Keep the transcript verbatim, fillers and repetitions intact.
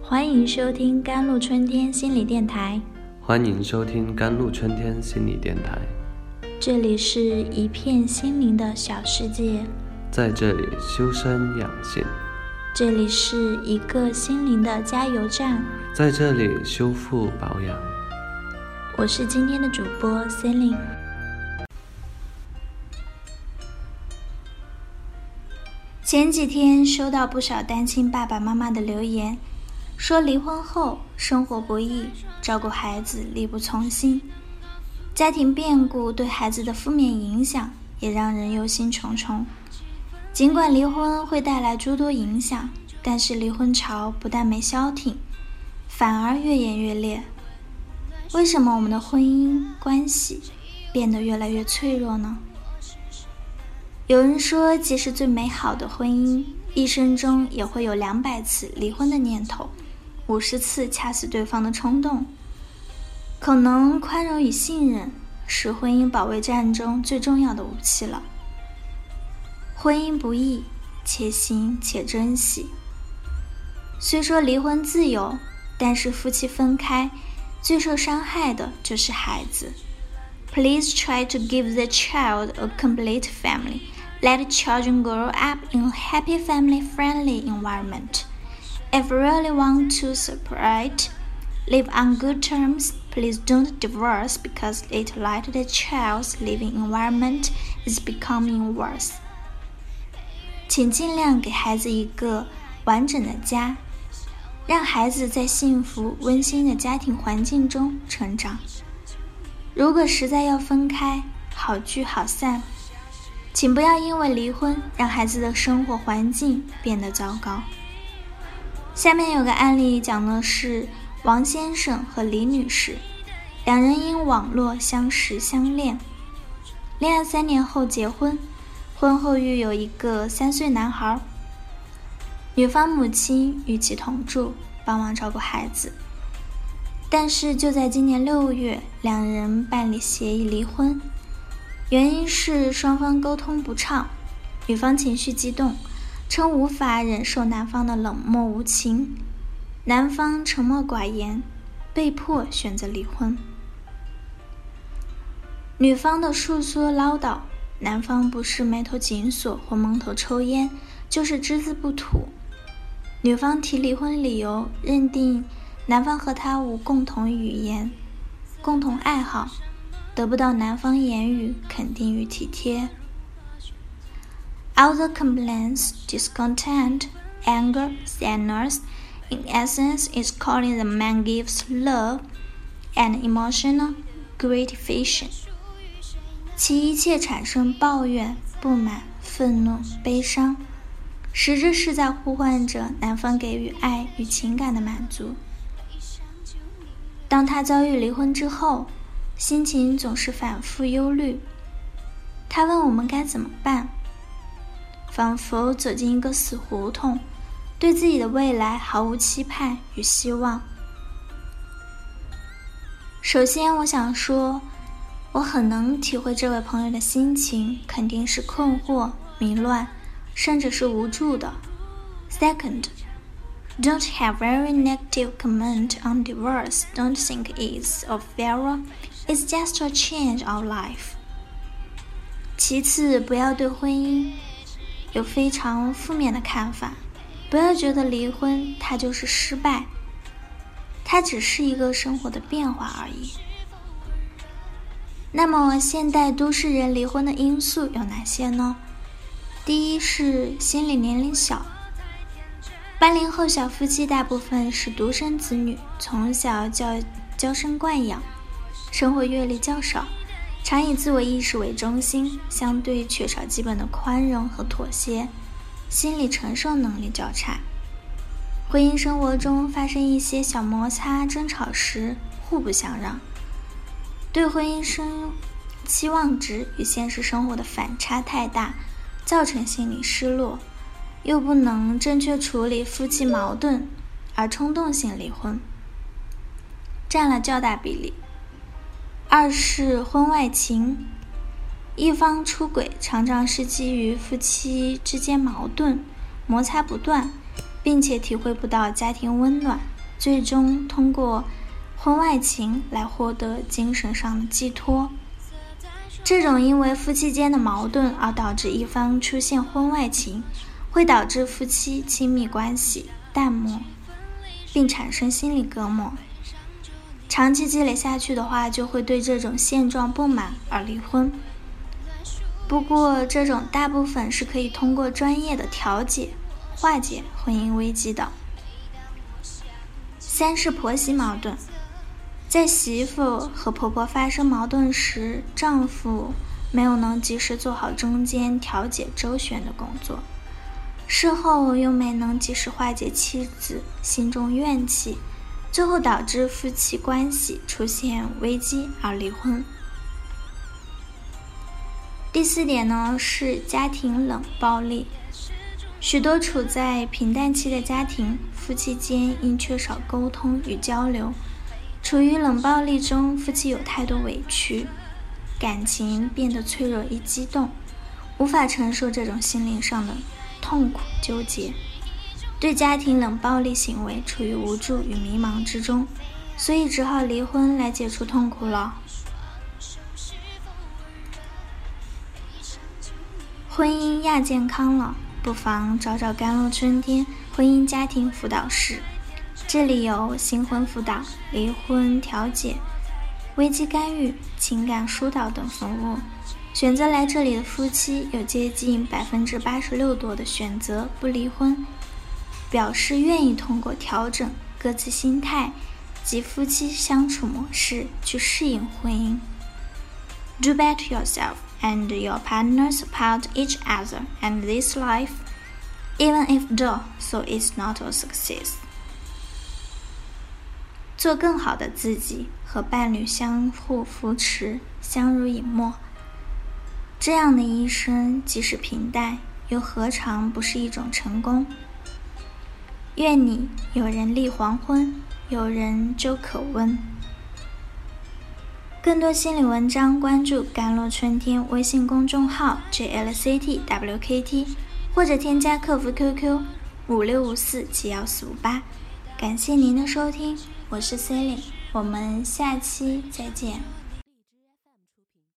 欢迎收听甘露春天心理电台。 欢迎收听甘露春天心理电台。 这里是一片心灵的小世界， 在这里修身养性。 这里是一个心灵的加油站， 在这里修复保养。 我是今天的主播 Celine。 前几天收到不少单亲爸爸妈妈的留言，说离婚后生活不易，照顾孩子力不从心，家庭变故对孩子的负面影响也让人忧心忡忡。尽管离婚会带来诸多影响，但是离婚潮不但没消停，反而越演越烈。为什么我们的婚姻关系变得越来越脆弱呢？有人说，即使最美好的婚姻，一生中也会有两百次离婚的念头，五十次掐死对方的冲动。可能宽容与信任是婚姻保卫战中最重要的武器了。婚姻不易，且行且珍惜。虽说离婚自由，但是夫妻分开，最受伤害的就是孩子。Please try to give the child a complete family. Let children grow up in a happy family-friendly environment. If you really want to separate, live on good terms, please don't divorce because it let the child's living environment is becoming worse. 请尽量给孩子一个完整的家，让孩子在幸福温馨的家庭环境中成长。如果实在要分开，好聚好散，请不要因为离婚让孩子的生活环境变得糟糕。下面有个案例讲的是王先生和李女士，两人因网络相识相恋，恋爱三年后结婚，婚后育有一个三岁男孩。女方母亲与其同住，帮忙照顾孩子。但是就在今年六月，两人办理协议离婚，原因是双方沟通不畅，女方情绪激动，称无法忍受男方的冷漠无情，男方沉默寡言，被迫选择离婚。女方的述说唠叨，男方不是眉头紧锁或蒙头抽烟，就是只字不吐。女方提离婚理由，认定男方和她无共同语言、共同爱好，得不到男方言语肯定与体贴。All the complaints, discontent, anger, sadness, in essence is calling the man gives love and emotional gratification. 其一切产生抱怨、不满、愤怒、悲伤，实质是在呼唤着男方给予爱与情感的满足。当他遭遇离婚之后，心情总是反复忧虑。他问我们该怎么办，仿佛走进一个死胡同，对自己的未来毫无期盼与希望。首先我想说，我很能体会这位朋友的心情，肯定是困惑、迷乱，甚至是无助的。Second, don't have very negative comment on divorce. Don't think it's a failure. It's just a change of life. 其次，不要对婚姻有非常负面的看法，不要觉得离婚它就是失败，它只是一个生活的变化而已。那么现代都市人离婚的因素有哪些呢？第一是心理年龄小，八零后小夫妻大部分是独生子女，从小教娇生惯养，生活阅历较少，常以自我意识为中心，相对缺少基本的宽容和妥协，心理承受能力较差。婚姻生活中发生一些小摩擦争吵时，互不相让，对婚姻生期望值与现实生活的反差太大，造成心理失落，又不能正确处理夫妻矛盾，而冲动性离婚，占了较大比例。二是婚外情，一方出轨常常是基于夫妻之间矛盾，摩擦不断，并且体会不到家庭温暖， 最终通过婚外情来获得精神上的寄托。这种因为夫妻间的矛盾而导致一方出现婚外情，会导致夫妻亲密关系淡漠，并产生心理隔膜。长期积累下去的话，就会对这种现状不满而离婚。不过，这种大部分是可以通过专业的调解化解婚姻危机的。三是婆媳矛盾。在媳妇和婆婆发生矛盾时，丈夫没有能及时做好中间调解周旋的工作，事后又没能及时化解妻子心中怨气，最后导致夫妻关系出现危机而离婚。第四点呢，是家庭冷暴力。许多处在平淡期的家庭，夫妻间因缺少沟通与交流，处于冷暴力中，夫妻有太多委屈，感情变得脆弱与激动，无法承受这种心灵上的痛苦纠结，对家庭冷暴力行为处于无助与迷茫之中，所以只好离婚来解除痛苦了。婚姻亚健康了，不妨找找甘露春天婚姻家庭辅导室，这里有新婚辅导、离婚调解、危机干预、情感疏导等服务。选择来这里的夫妻有接近百分之八十六多的选择不离婚，表示愿意通过调整各自心态及夫妻相处模式去适应婚姻。Do better yourself and your partner support each other and this life, even if though so is not a success. 做更好的自己，和伴侣相互扶持，相濡以沫。这样的一生即使平淡，又何尝不是一种成功？愿你有人立黄昏，有人粥可温。更多心理文章关注甘露春天微信公众号 J L C T W K T 或者添加客服 Q Q 五六五四七一四五八。感谢您的收听，我是 Celine， 我们下期再见。